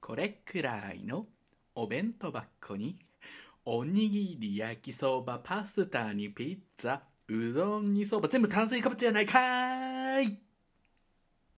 これくらいのお弁当箱におにぎり、焼きそば、パスタにピッツァ、うどんにそば、全部炭水化物じゃないかーい。